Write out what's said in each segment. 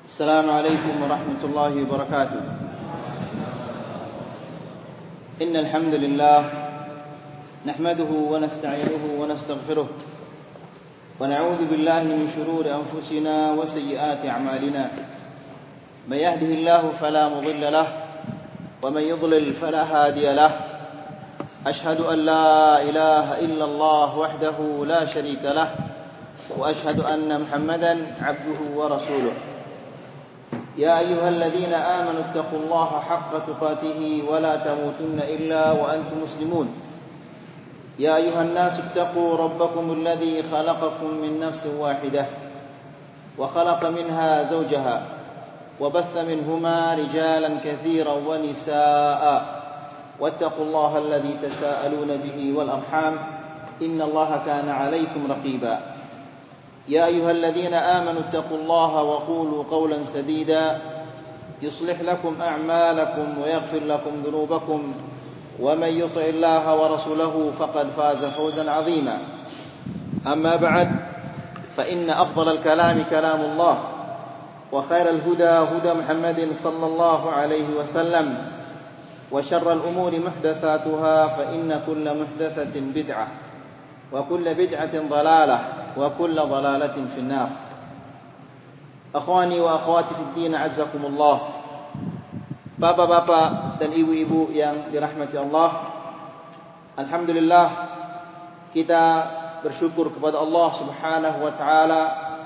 السلام عليكم ورحمة الله وبركاته. إن الحمد لله نحمده ونستعينه ونستغفره ونعوذ بالله من شرور أنفسنا وسيئات أعمالنا. من يهده الله فلا مضل له ومن يضلل فلا هادي له. أشهد أن لا إله إلا الله وحده لا شريك له وأشهد أن محمدا عبده ورسوله. يا أيها الذين آمنوا اتقوا الله حق تقاته ولا تموتن إلا وأنتم مسلمون. يا أيها الناس اتقوا ربكم الذي خلقكم من نفس واحدة وخلق منها زوجها وبث منهما رجالا كثيرا ونساء واتقوا الله الذي تساءلون به والأرحام إن الله كان عليكم رقيبا. يا أيها الذين آمنوا اتقوا الله وقولوا قولا سديدا يصلح لكم أعمالكم ويغفر لكم ذنوبكم ومن يطع الله ورسوله فقد فاز فوزا عظيما. أما بعد فإن أفضل الكلام كلام الله وخير الهدى هدى محمد صلى الله عليه وسلم وشر الأمور محدثاتها فإن كل محدثة بدعة وكل بدعة ضلالة وكل ضلالة في النار. Akhwani wa akhwati fid din, azzakumullah. Bapak-bapak dan ibu-ibu yang dirahmati Allah, alhamdulillah kita bersyukur kepada Allah Subhanahu wa taala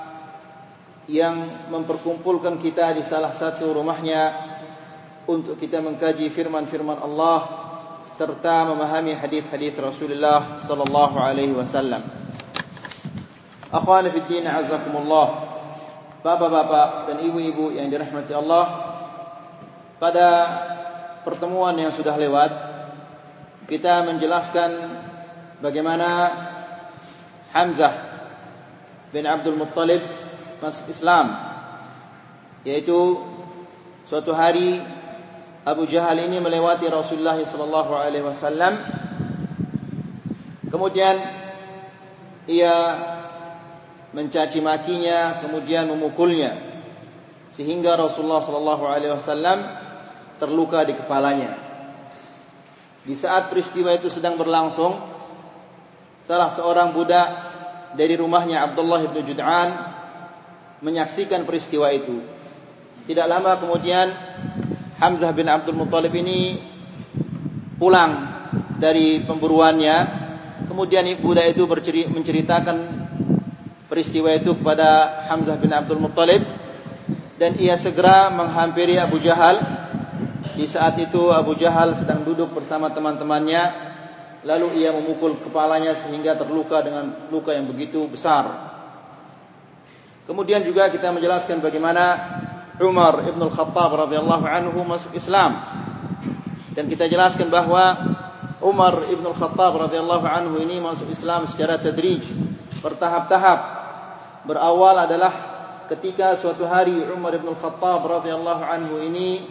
yang memperkumpulkan kita di salah satu rumahnya untuk kita mengkaji firman-firman Allah serta memahami hadis-hadis Rasulullah sallallahu alaihi wasallam. Akhwani fid din, azakumullah. Bapak-bapak dan ibu-ibu yang dirahmati Allah, pada pertemuan yang sudah lewat kita menjelaskan bagaimana Hamzah bin Abdul Muttalib masuk Islam, yaitu suatu hari Abu Jahal ini melewati Rasulullah sallallahu alaihi wasallam. Kemudian ia mencaci makinya, kemudian memukulnya sehingga Rasulullah sallallahu alaihi wasallam terluka di kepalanya. Di saat peristiwa itu sedang berlangsung, salah seorang budak dari rumahnya Abdullah bin Jud'an menyaksikan peristiwa itu. Tidak lama kemudian Hamzah bin Abdul Muttalib ini pulang dari pemburuannya. Kemudian budak itu menceritakan peristiwa itu kepada Hamzah bin Abdul Muttalib, dan ia segera menghampiri Abu Jahal. Di saat itu Abu Jahal sedang duduk bersama teman-temannya, lalu ia memukul kepalanya sehingga terluka dengan luka yang begitu besar. Kemudian juga kita menjelaskan bagaimana Umar ibn al-Khattab radhiyallahu anhu masuk Islam, dan kita jelaskan bahwa Umar ibn al-Khattab radhiyallahu anhu ini masuk Islam secara tadrij, bertahap-tahap. Berawal adalah ketika suatu hari Umar ibn al-Khattab radhiyallahu anhu ini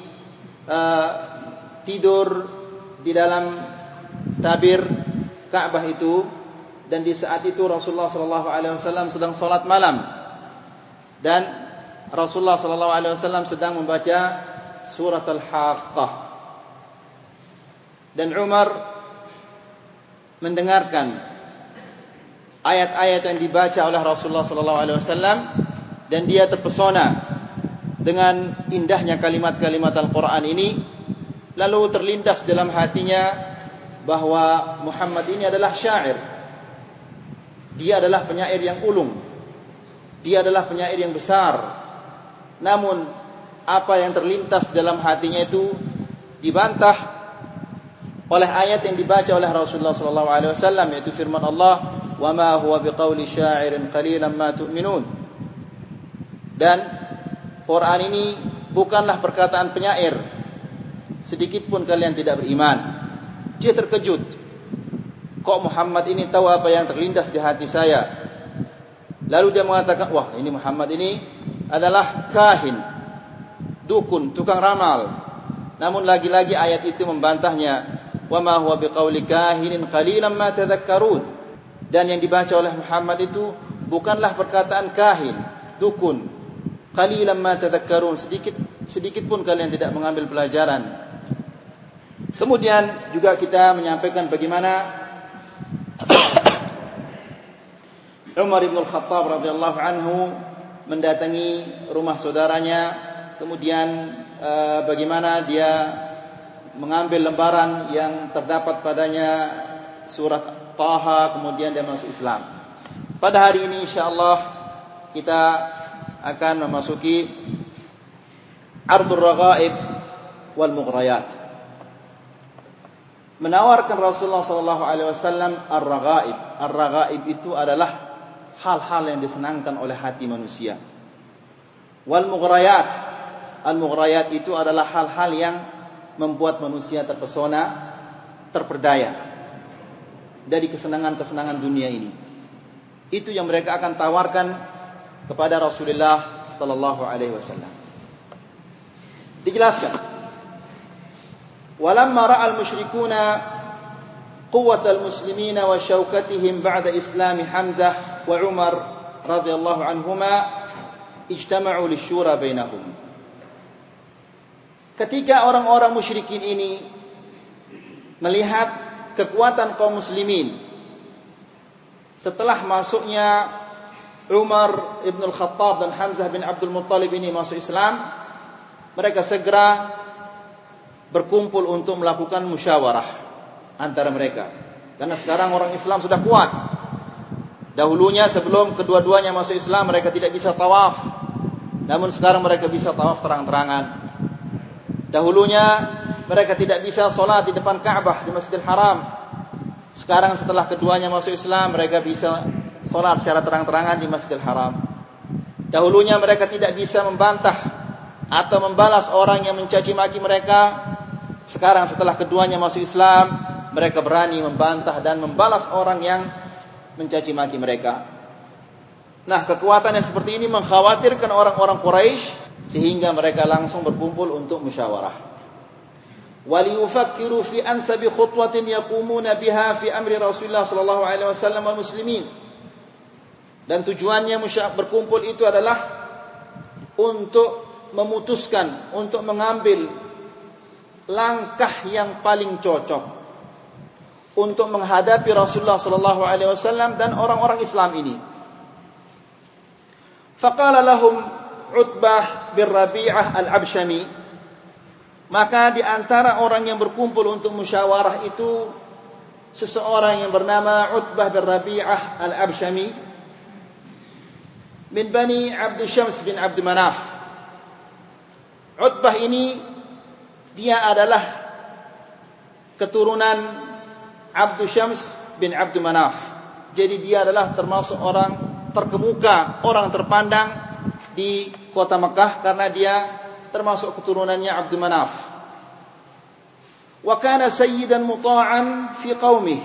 tidur di dalam tabir Ka'bah itu, dan di saat itu Rasulullah sallallahu alaihi wasallam sedang salat malam, dan Rasulullah sallallahu alaihi wasallam sedang membaca surat Al-Haqqah, dan Umar mendengarkan ayat-ayat yang dibaca oleh Rasulullah sallallahu alaihi wasallam, dan dia terpesona dengan indahnya kalimat-kalimat Al-Qur'an ini. Lalu terlintas dalam hatinya bahwa Muhammad ini adalah syair. Dia adalah penyair yang ulung. Dia adalah penyair yang besar. Namun apa yang terlintas dalam hatinya itu dibantah oleh ayat yang dibaca oleh Rasulullah sallallahu alaihi wasallam, yaitu firman Allah, "Wa ma huwa biqauli sya'irin qalilan ma tu'minun." Dan Quran ini bukanlah perkataan penyair, sedikit pun kalian tidak beriman. Dia terkejut. Kok Muhammad ini tahu apa yang terlintas di hati saya? Lalu dia mengatakan, wah, ini Muhammad ini adalah kahin, dukun, tukang ramal. Namun lagi-lagi ayat itu membantahnya, "Wa ma huwa biqauli kahinin qalilan ma tadhakkarun." Dan yang dibaca oleh Muhammad itu bukanlah perkataan kahin, dukun, qalilan ma tadhakkarun, sedikit pun kalian tidak mengambil pelajaran. Kemudian juga kita menyampaikan bagaimana Umar ibn al-Khattab radhiyallahu anhu mendatangi rumah saudaranya, kemudian bagaimana dia mengambil lembaran yang terdapat padanya surat Taha, kemudian dia masuk Islam. Pada hari ini insyaallah kita akan memasuki Ardul Raghaib wal Mughrayat. Menawarkan Rasulullah sallallahu alaihi wasallam ar-raghaib. Ar-raghaib itu adalah hal-hal yang disenangkan oleh hati manusia. Wal mughrayat. Al-mughrayat itu adalah hal-hal yang membuat manusia terpesona, terperdaya dari kesenangan-kesenangan dunia ini. Itu yang mereka akan tawarkan kepada Rasulullah sallallahu alaihi wasallam. Dijelaskan, walamma ra'al musyrikuuna quwwatal muslimina wa syaukatihim ba'da islami Hamzah wa Umar radhiyallahu anhuma ijtama'u lisyura bainahum. Ketika orang-orang musyrikin ini melihat kekuatan kaum muslimin setelah masuknya Umar ibn al-Khattab dan Hamzah bin Abdul Muttalib ini masuk Islam, mereka segera berkumpul untuk melakukan musyawarah antara mereka. Karena sekarang orang Islam sudah kuat. Dahulunya sebelum kedua-duanya masuk Islam mereka tidak bisa tawaf. Namun sekarang mereka bisa tawaf terang-terangan. Dahulunya mereka tidak bisa solat di depan Ka'bah di Masjidil Haram. Sekarang setelah keduanya masuk Islam mereka bisa solat secara terang-terangan di Masjidil Haram. Dahulunya mereka tidak bisa membantah atau membalas orang yang mencaci maki mereka. Sekarang setelah keduanya masuk Islam, mereka berani membantah dan membalas orang yang mencaci maki mereka. Nah, kekuatan yang seperti ini mengkhawatirkan orang-orang Quraisy sehingga mereka langsung berkumpul untuk musyawarah. Waliyufakkiru fi ansabi khutwatin yaqumuna biha fi amri Rasulullah sallallahu alaihi wasallam wal muslimin. Dan tujuannya berkumpul itu adalah untuk memutuskan, untuk mengambil langkah yang paling cocok untuk menghadapi Rasulullah sallallahu alaihi wasallam dan orang-orang Islam ini. Faqala lahum Utbah bin Rabi'ah al-Abshami, maka di antara orang yang berkumpul untuk musyawarah itu seseorang yang bernama Utbah bin Rabi'ah al-Abshami min Bani Abd Syams bin Abd Manaf. Utbah ini dia adalah keturunan Abd Syams bin Abd Manaf. Jadi dia adalah termasuk orang terkemuka, orang terpandang di kota Mekah karena dia termasuk keturunannya Abd Manaf. Wa kana sayyidan muta'an fi qaumih.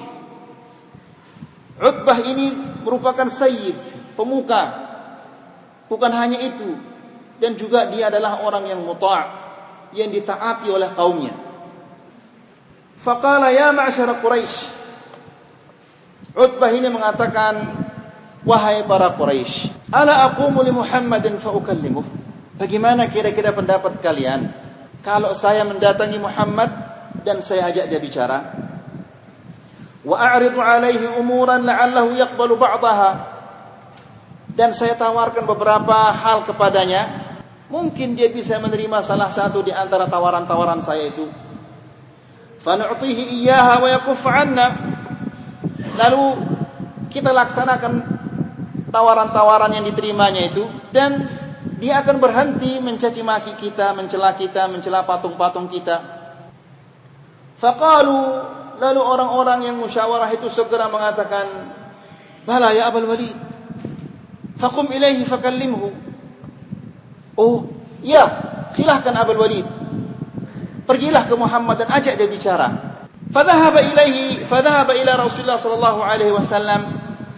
Utbah ini merupakan sayyid, pemuka. Bukan hanya itu, dan juga dia adalah orang yang muta', yang ditaati oleh kaumnya. Faqala ya ma'syara Quraisy. Utbah ini mengatakan, wahai para Quraisy, ala aqumu li Muhammadin fa ukallimuh. Bagaimana kira-kira pendapat kalian kalau saya mendatangi Muhammad dan saya ajak dia bicara? Wa a'ridu alaihi umuran la'allahu yaqbalu ba'daha. Dan saya tawarkan beberapa hal kepadanya, mungkin dia bisa menerima salah satu di antara tawaran-tawaran saya itu. Fa nu'tihi iyyaha wa yakuffa 'anna. Lalu kita laksanakan tawaran-tawaran yang diterimanya itu, dan dia akan berhenti mencaci maki kita, mencela patung-patung kita. Faqalu, lalu orang-orang yang musyawarah itu segera mengatakan, bala ya Abul Walid, faqum ilaihi fakallimhu. Oh, ya, silahkan Abul Walid, pergilah ke Muhammad dan ajak dia bicara. Fadhahaba ila Rasulullah sallallahu alaihi wasallam.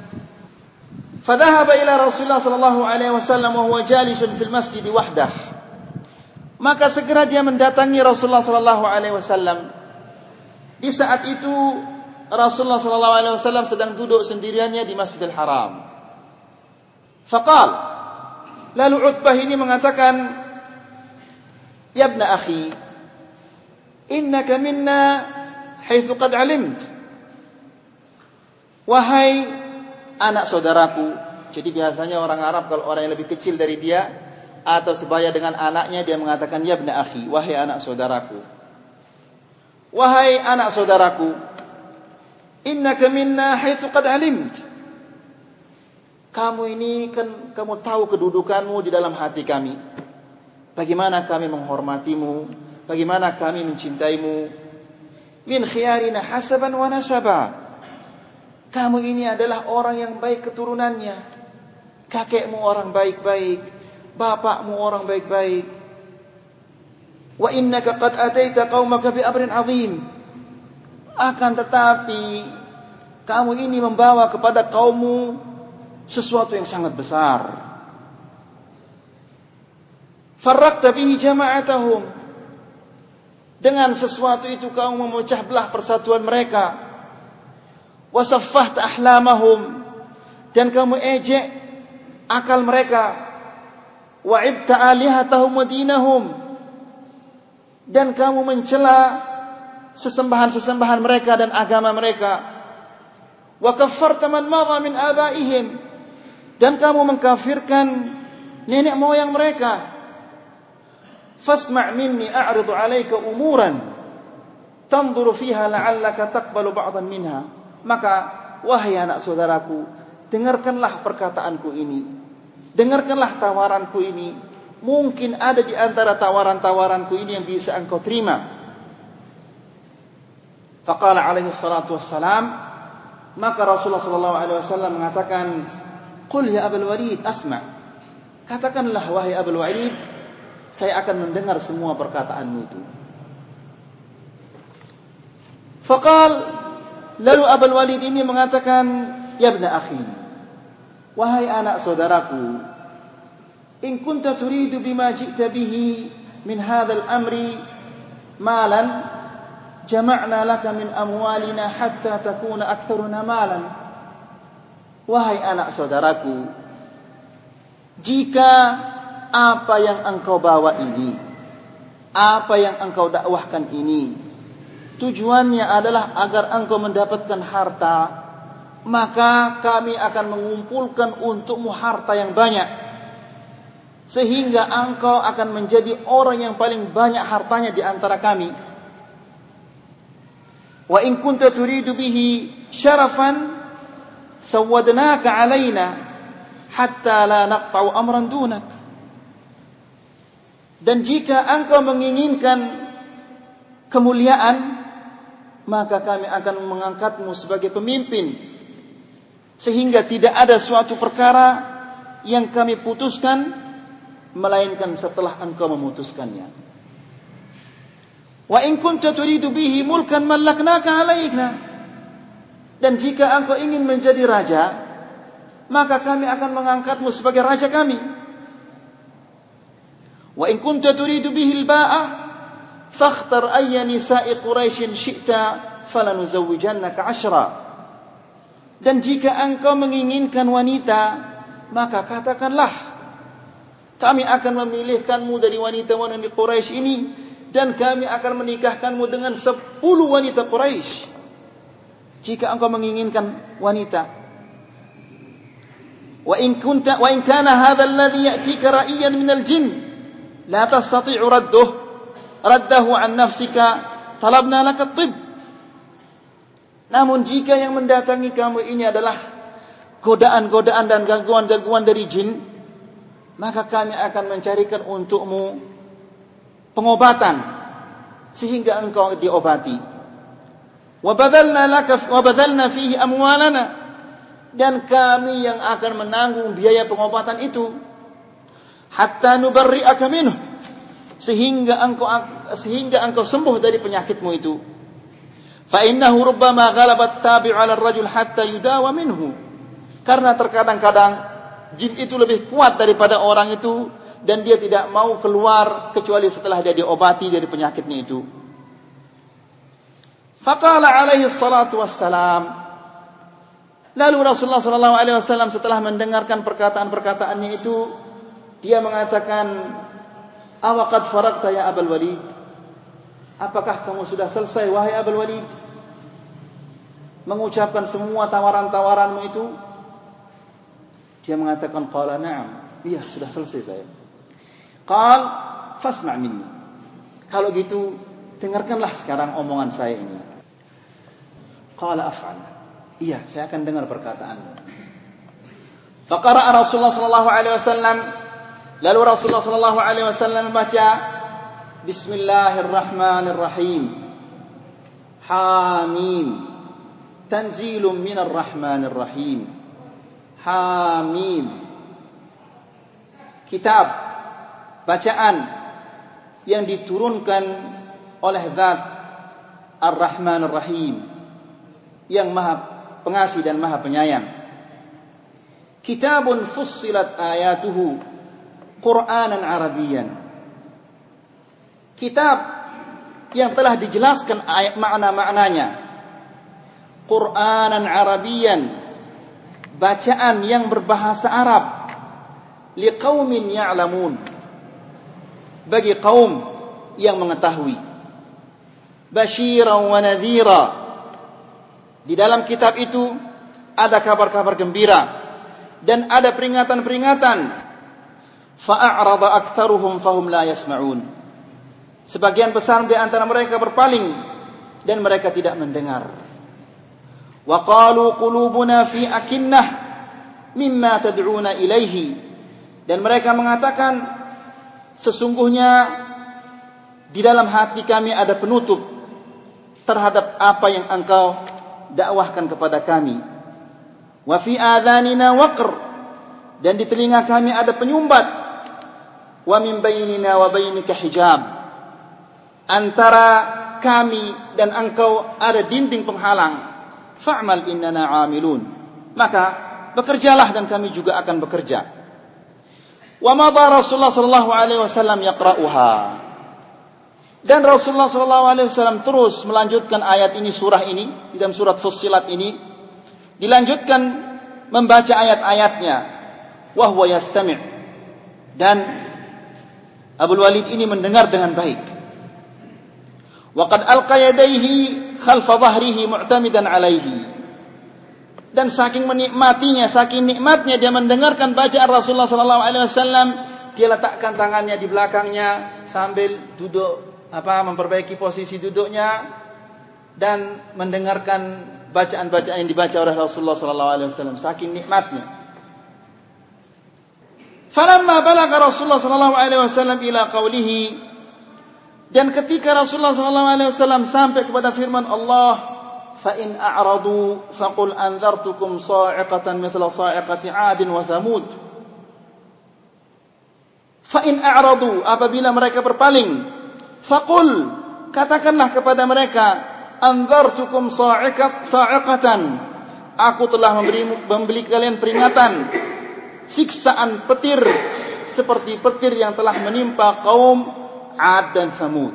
فذهب إلى رسول الله صلى الله عليه وسلم وهو جالس في المسجد وحده. Maka segera dia mendatangi Rasulullah sallallahu alaihi wasallam. Di saat itu Rasulullah sallallahu alaihi wasallam sedang duduk sendiriannya di Masjidil Haram. Faqal, Lalu Utbah ini mengatakan, "Ya ibna akhi, innaka minna haitsu qad alimt." Wahai anak saudaraku. Jadi biasanya orang Arab kalau orang yang lebih kecil dari dia atau sebaya dengan anaknya, dia mengatakan, "Ya ibna akhi," wahai anak saudaraku. Wahai anak saudaraku, innaka minna haitsu qad alimt. Kamu ini kan kamu tahu kedudukanmu di dalam hati kami. Bagaimana kami menghormatimu, bagaimana kami mencintaimu. Min khiyarina hasaban wa nasaba. Kamu ini adalah orang yang baik keturunannya. Kakekmu orang baik-baik, bapakmu orang baik-baik. Wa innaka qad ataita qaumaka bi amrin 'azim. Akan tetapi kamu ini membawa kepada kaummu sesuatu yang sangat besar. Farraqta bihi jama'atahum. Dengan sesuatu itu kamu memecah belah persatuan mereka. Wasaffahta ahlamahum. Dan kamu ejek akal mereka. Wa'ibta alihatahum wa dinahum. Dan kamu mencela sesembahan-sesembahan mereka dan agama mereka. Wa kaffarta man madha min abaihim. Dan kamu mengkafirkan nenek moyang mereka. Fasma' minni a'ridu 'alaika umuran tanzuru fiha la'allaka taqbalu ba'dhan minha. Maka wahai anak saudaraku, dengarkanlah perkataanku ini. Dengarkanlah tawaranku ini. Mungkin ada di antara tawaran-tawaranku ini yang bisa engkau terima. Faqala alaihi salatu wassalam, maka Rasulullah sallallahu alaihi wasallam mengatakan, "Qul ya Abul Walid asma'." Katakanlah wahai Abul Walid, saya akan mendengar semua perkataanmu itu. Faqal, lalu Abul Walid ini mengatakan, "Ya ibna akhi, wahai anak saudaraku, in kunta turidu bima ji'ta bihi min hadzal amri malan, jama'na laka min amwalina hatta takuna aktsaruna malan." Wahai anak saudaraku, jika apa yang engkau bawa ini, apa yang engkau dakwahkan ini, tujuannya adalah agar engkau mendapatkan harta, maka kami akan mengumpulkan untukmu harta yang banyak, sehingga engkau akan menjadi orang yang paling banyak hartanya di antara kami. Wa in kunta turidu bihi syarafan sawadnaka alaina hatta la naqta'u amran dunak. Dan jika engkau menginginkan kemuliaan, maka kami akan mengangkatmu sebagai pemimpin, sehingga tidak ada suatu perkara yang kami putuskan melainkan setelah engkau memutuskannya. Wa in kunta turidu bihi mulkan mallaknaka alaina. Dan jika engkau ingin menjadi raja, maka kami akan mengangkatmu sebagai raja kami. Wa in kunta turidu bihi al-ba'a fakhtar ayya nisa'i Quraisy syi'ta falanuzawwijannaka 10. Dan jika engkau menginginkan wanita, maka katakanlah, kami akan memilihkanmu dari wanita-wanita Quraisy ini, dan kami akan menikahkanmu dengan 10 wanita Quraisy. Jika engkau menginginkan wanita. Wa in kana hadha alladhi ya'tika ra'iyan min al-jinn la tastati'u raddahu an nafsika talabna laka at-tibb. Namun jika yang mendatangi kamu ini adalah godaan-godaan dan gangguan-gangguan dari jin, maka kami akan mencarikan untukmu pengobatan sehingga engkau diobati. Wa badalna fihi amwalana, dan kami yang akan menanggung biaya pengobatan itu. Hatta nubarri'aka minhu, sehingga engkau sembuh dari penyakitmu itu. Fa innahu rubbama ghalabat tabi'u 'ala ar-rajul hatta yudawa minhu. Karena terkadang-kadang jin itu lebih kuat daripada orang itu, dan dia tidak mau keluar kecuali setelah dia diobati dari penyakitnya itu. Faqala alaihi salatu wassalam, lalu Rasulullah sallallahu alaihi wasallam setelah mendengarkan perkataan-perkataannya itu dia mengatakan, "Awaqad faragta ya Abul Walid?" Apakah kamu sudah selesai wahai Abul Walid mengucapkan semua tawaran-tawaranmu itu? Dia mengatakan, "Qala na'am." Iya, sudah selesai saya. Qal fasma' minni. Kalau gitu, dengarkanlah sekarang omongan saya ini. Qala af'al. Iya, saya akan dengar perkataanmu. Faqara'a Rasulullah sallallahu alaihi wasallam, lalu Rasulullah sallallahu alaihi wasallam membaca Bismillahirrahmanirrahim. Hamim. Tanzilun minar rahmanir rahim. Hamim. Kitab, bacaan yang diturunkan oleh Zat Ar-Rahman Ar-Rahim, yang Maha Pengasih dan Maha Penyayang. Kitabun fussilat ayatuhu Qur'anan Arabiyyan. Kitab yang telah dijelaskan ayat makna-maknanya Qur'anan Arabiyyan, bacaan yang berbahasa Arab, liqaumin ya'lamun, bagi kaum yang mengetahui. Basyiran wa nadhira, di dalam kitab itu ada kabar-kabar gembira dan ada peringatan-peringatan. Fa'arada aktsaruhum fahum la yasma'un. Sebagian besar di antara mereka berpaling dan mereka tidak mendengar. Wa qalu qulubuna fi akinnah mimma tad'una ilaihi, dan mereka mengatakan, sesungguhnya di dalam hati kami ada penutup terhadap apa yang engkau dakwahkan kepada kami. Wa fi adhanina waqr, dan di telinga kami ada penyumbat. Wa min bainina wa bainika hijab, antara kami dan engkau ada dinding penghalang. Fa'mal innana 'amilun, maka bekerjalah dan kami juga akan bekerja. Wa madha Rasulullah sallallahu alaihi wasallam yaqra'uha, dan Rasulullah sallallahu alaihi wasallam terus melanjutkan ayat ini, surah ini, di dalam surat Fussilat ini dilanjutkan membaca ayat-ayatnya. Wa huwa yastami', dan Abul Walid ini mendengar dengan baik. Waqad alqa yadayhi khalfa dhahrihi mu'tamidan alaihi, dan saking menikmatinya, saking nikmatnya dia mendengarkan bacaan Rasulullah sallallahu alaihi wasallam, dia letakkan tangannya di belakangnya sambil duduk, memperbaiki posisi duduknya dan mendengarkan bacaan-bacaan yang dibaca oleh Rasulullah sallallahu alaihi wasallam, saking nikmatnya. Falamma balagha Rasulullah sallallahu alaihi wasallam ila qawlihi, dan ketika Rasulullah sallallahu alaihi wasallam sampai kepada firman Allah, fa in a'radu faqul anzartukum sa'iqatan mithla sa'iqati 'adin wa thamud. Fa in a'radu, apabila mereka berpaling, faqul, katakanlah kepada mereka, anzartukum sa'iqatan, aku telah memberi kalian peringatan, siksaan petir seperti petir yang telah menimpa kaum Ad dan Thamud.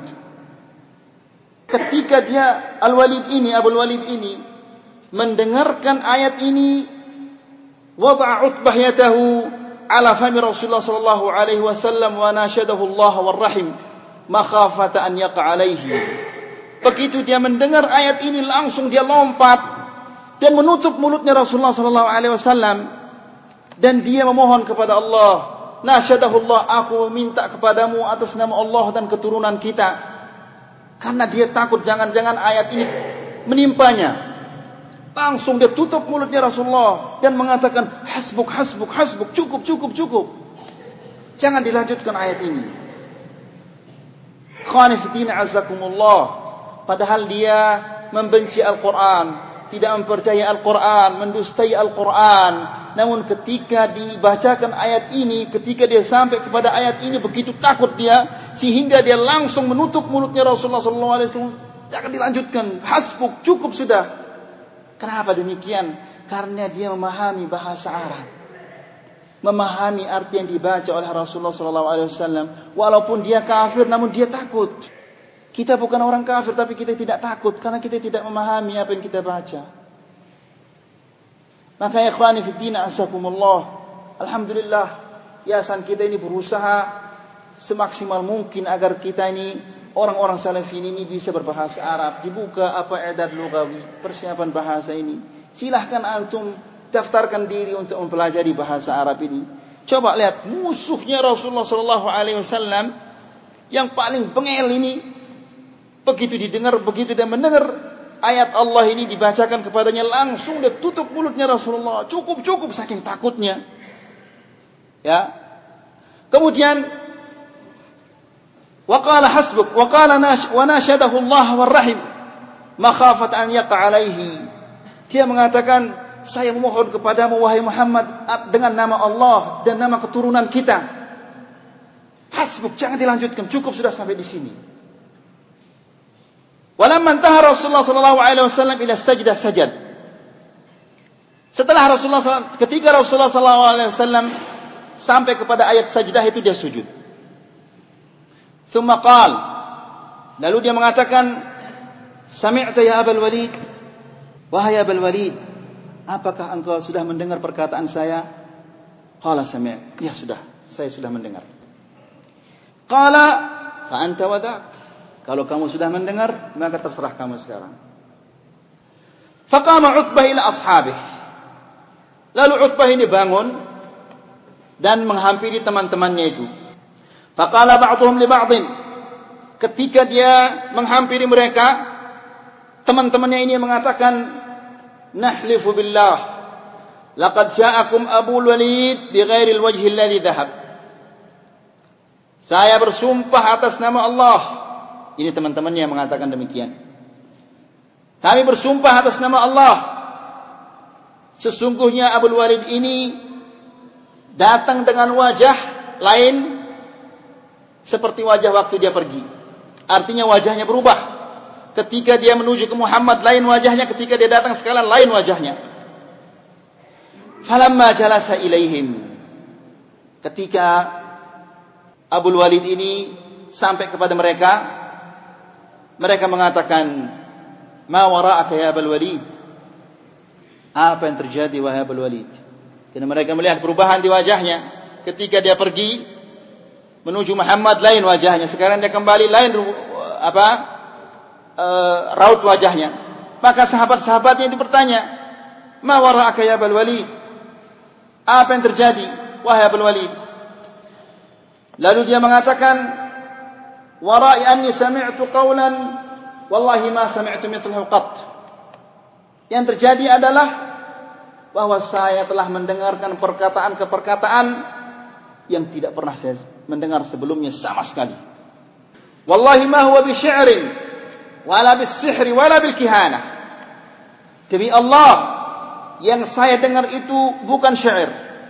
Ketika dia Abul Walid ini mendengarkan ayat ini, wada'a Utbah yadahu ala fami Rasulullah sallallahu alaihi wasallam wa nashadahu Allah warrahim makhafata an yaqa alaihi. Begitu dia mendengar ayat ini, langsung dia lompat dan menutup mulutnya Rasulullah sallallahu alaihi wasallam, dan dia memohon kepada Allah. Nasyadahullah, aku meminta kepadamu atas nama Allah dan keturunan kita, karena dia takut jangan-jangan ayat ini menimpanya. Langsung dia tutup mulutnya Rasulullah dan mengatakan, hasbuk, hasbuk, hasbuk, cukup, cukup, cukup, jangan dilanjutkan ayat ini. Khanifiddin azakumullah, padahal dia membenci Al-Quran, tidak mempercayai Al-Quran, mendustai Al-Quran. Namun ketika dibacakan ayat ini, ketika dia sampai kepada ayat ini, begitu takut dia sehingga dia langsung menutup mulutnya Rasulullah SAW. Jangan dilanjutkan, hasbuk, cukup sudah. Kenapa demikian? Karena dia memahami bahasa Arab, memahami arti yang dibaca oleh Rasulullah SAW. Walaupun dia kafir, namun dia takut. Kita bukan orang kafir, tapi kita tidak takut karena kita tidak memahami apa yang kita baca. Maka ikhwani fi din asakumullah, alhamdulillah, yayasan kita ini berusaha semaksimal mungkin agar kita ini orang-orang salafin ini bisa berbahasa Arab. Dibuka i'dad lugawi, persiapan bahasa ini. Silahkan antum daftarkan diri untuk mempelajari bahasa Arab ini. Coba lihat musuhnya Rasulullah sallallahu alaihi wasallam yang paling bengel ini, begitu dia mendengar ayat Allah ini dibacakan kepadanya, langsung dia tutup mulutnya Rasulullah. Cukup saking takutnya. Ya. Kemudian waqala hasbuk waqala wa nashadahu Allah warrahim makhafat an yaqa alaihi. Dia mengatakan, saya memohon kepadamu wahai Muhammad dengan nama Allah dan nama keturunan kita. Hasbuk, jangan dilanjutkan, cukup sudah sampai di sini. Walamma intaha Rasulullah sallallahu alaihi wasallam ila sajdah sajad. Setelah ketika Rasulullah sallallahu alaihi wasallam sampai kepada ayat sajdah itu, dia sujud. Thumma qala, lalu dia mengatakan, sami'ta ya Abul Walid, wahai Abul Walid, apakah engkau sudah mendengar perkataan saya? Qala sami'tu, ya sudah, saya sudah mendengar. Qala fa anta wadak, kalau kamu sudah mendengar maka terserah kamu sekarang. Faqama Utbah ila ashabih, lalu Utbah ini bangun dan menghampiri teman-temannya itu. Faqala ba'dhum li ba'dhin, ketika dia menghampiri mereka, teman-temannya ini mengatakan, nahlifu billah laqad ja'akum Abul Walid bighairi alwajhi alladhi dhahab. Saya bersumpah atas nama Allah. Ini teman-temannya yang mengatakan demikian. Kami bersumpah atas nama Allah, sesungguhnya Abul Walid ini datang dengan wajah lain seperti wajah waktu dia pergi. Artinya wajahnya berubah. Ketika dia menuju ke Muhammad lain wajahnya, ketika dia datang sekalian lain wajahnya. Falamma jalasa ilaihim, ketika Abul Walid ini sampai kepada mereka, mereka mengatakan, ma wara'aka ya Abul Walid, apa yang terjadi wahai Abul Walid? Karena mereka melihat perubahan di wajahnya. Ketika dia pergi menuju Muhammad lain wajahnya, sekarang dia kembali lain raut wajahnya. Maka sahabat-sahabatnya itu bertanya, ma wara'aka ya Abul Walid, apa yang terjadi wahai Abul Walid? Lalu dia mengatakan, wara'i anni sami'tu qawlan wallahi ma sami'tu mithlahu qat. Yang terjadi adalah bahwa saya telah mendengarkan perkataan yang tidak pernah saya mendengar sebelumnya sama sekali. Wallahi ma huwa bi syi'rin wala bis sihri wala bil kihanah. Demi Allah, yang saya dengar itu bukan syair,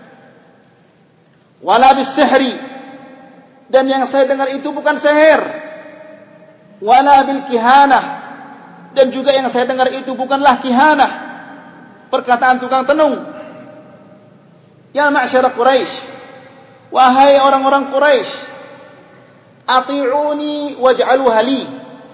wala bis sihri, dan yang saya dengar itu bukan sihir, wala bil kihanah, dan juga yang saya dengar itu bukanlah kihanah, perkataan tukang tenung. Ya ma'syara Quraisy, wahai orang-orang Quraisy, ati'uni waj'aluha li,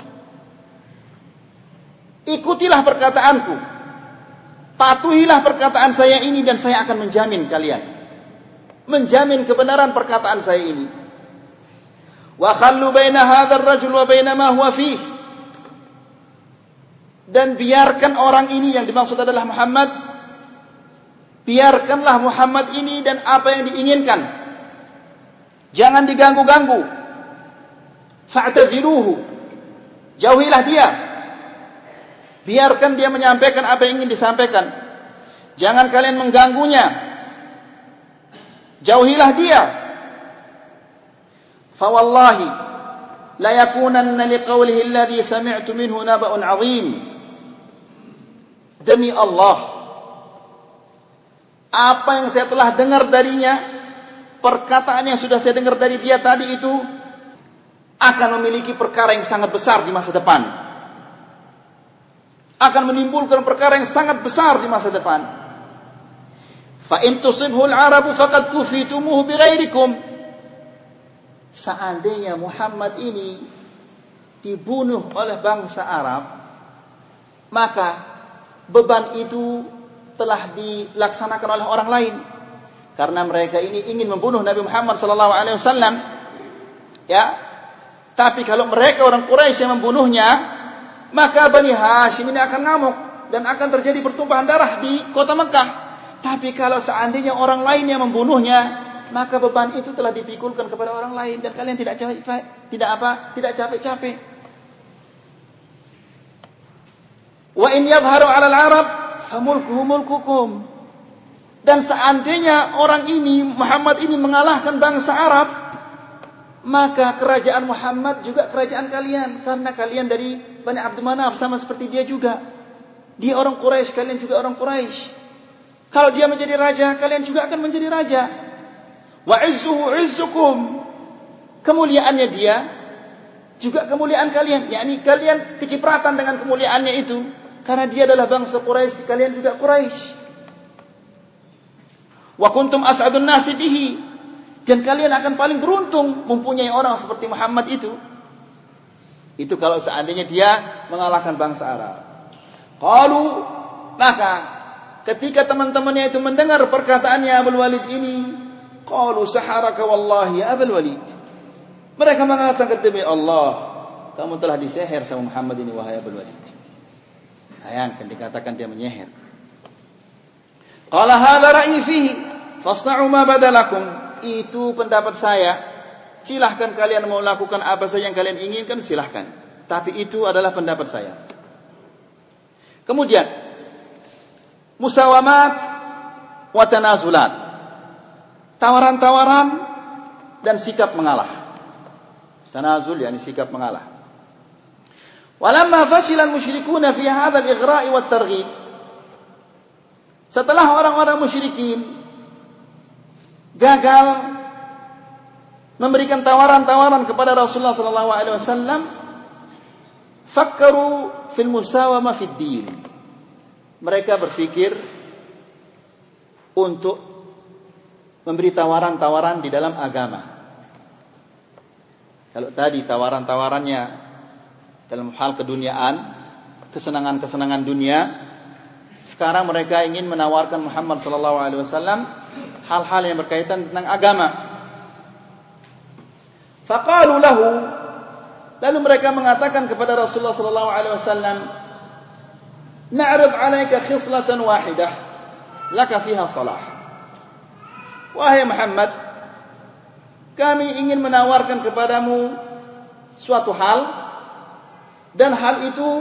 ikutilah perkataanku, patuhilah perkataan saya ini, dan saya akan menjamin kalian, menjamin kebenaran perkataan saya ini. Wa khallu baina hadzal rajul wa baina ma huwa fihi, dan biarkan orang ini yang dimaksud adalah Muhammad, biarkanlah Muhammad ini dan apa yang diinginkan, jangan diganggu-ganggu. Fa'taziluhu, jauhilah dia, biarkan dia menyampaikan apa yang ingin disampaikan, jangan kalian mengganggunya, jauhilah dia. Fa wallahi la yakunanna liqawlihi alladhi sami'tu minhu naba'un 'azim. Demi Allah, apa yang saya telah dengar darinya, perkataan yang sudah saya dengar dari dia tadi itu akan memiliki perkara yang sangat besar di masa depan, akan menimbulkan perkara yang sangat besar di masa depan. Fa in tusibhu al-'arabu faqad kufitumuhu bighairikum. Seandainya Muhammad ini dibunuh oleh bangsa Arab, maka beban itu telah dilaksanakan oleh orang lain. karena mereka ini ingin membunuh Nabi Muhammad sallallahu alaihi wasallam. Ya. Tapi kalau mereka orang Quraisy yang membunuhnya, maka Bani Hashim ini akan ngamuk dan akan terjadi pertumpahan darah di kota Mekah. Tapi kalau seandainya orang lain yang membunuhnya, maka beban itu telah dipikulkan kepada orang lain dan kalian tidak capek-capek. Wa in yadhharu 'alal 'arab famulkuhu mulkukum. Dan seandainya orang ini, Muhammad ini mengalahkan bangsa Arab, maka kerajaan Muhammad juga kerajaan kalian, karena kalian dari Bani Abdul Manaf sama seperti dia juga. Dia orang Quraisy, kalian juga orang Quraisy. Kalau dia menjadi raja, kalian juga akan menjadi raja. Wa 'izzuhu 'izzukum. Kemuliaannya dia juga kemuliaan kalian, yakni kalian kecipratan dengan kemuliaannya itu, karena dia adalah bangsa Quraisy, kalian juga Quraisy. Wa kuntum as'adun nasi bihi. Dan kalian akan paling beruntung mempunyai orang seperti Muhammad itu. Itu kalau seandainya dia mengalahkan bangsa Arab. Qalu, maka ketika teman-temannya itu mendengar perkataannya Abul Walid ini, qalu saharaka wallahi ya Abul Walid. Mereka mengatakan, demi Allah, kamu telah disihir sama Muhammad ini, wahai Abul Walid. Bayangkan dikatakan dia menyihir. Qala hadza ra'yi fihi fasna'u ma badalakum. Itu pendapat saya. Silahkan kalian mau lakukan apa saja yang kalian inginkan, silahkan. Tapi itu adalah pendapat saya. Kemudian musawamat wa tanazulat. Tawaran-tawaran dan sikap mengalah. Tanazul yakni sikap mengalah. Walamma fashila al-musyrikuuna fi hadzal ighra'i wat targhib. Setelah orang-orang musyrikin gagal memberikan tawaran-tawaran kepada Rasulullah sallallahu alaihi wasallam, fakkaru fil musawamah fid din. Mereka berpikir untuk memberi tawaran-tawaran di dalam agama. Kalau tadi tawaran-tawarannya dalam hal keduniaan, kesenangan-kesenangan dunia, sekarang mereka ingin menawarkan Muhammad sallallahu alaihi wasallam hal-hal yang berkaitan tentang agama. Faqalu lahu, lalu mereka mengatakan kepada Rasulullah sallallahu alaihi wasallam, na'rid 'alaika khislatan wahidah laka fiha salah. Wahai Muhammad, kami ingin menawarkan kepadamu suatu hal, dan hal itu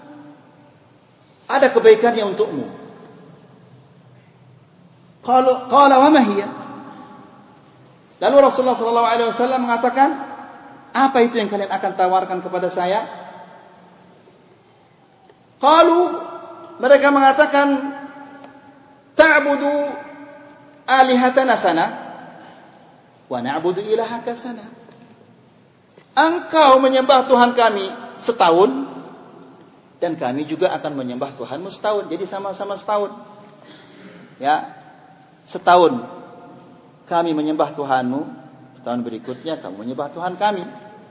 ada kebaikannya untukmu. Qala wa ma hiya? Lalu Rasulullah sallallahu alaihi wasallam mengatakan, apa itu yang kalian akan tawarkan kepada saya? Qalu, mereka mengatakan, ta'budu alihatana sana wa na'budu ilahaka sana. Engkau menyembah Tuhan kami setahun, dan kami juga akan menyembah Tuhanmu setahun. Jadi sama-sama setahun. Ya, setahun kami menyembah Tuhanmu, setahun berikutnya kamu menyembah Tuhan kami.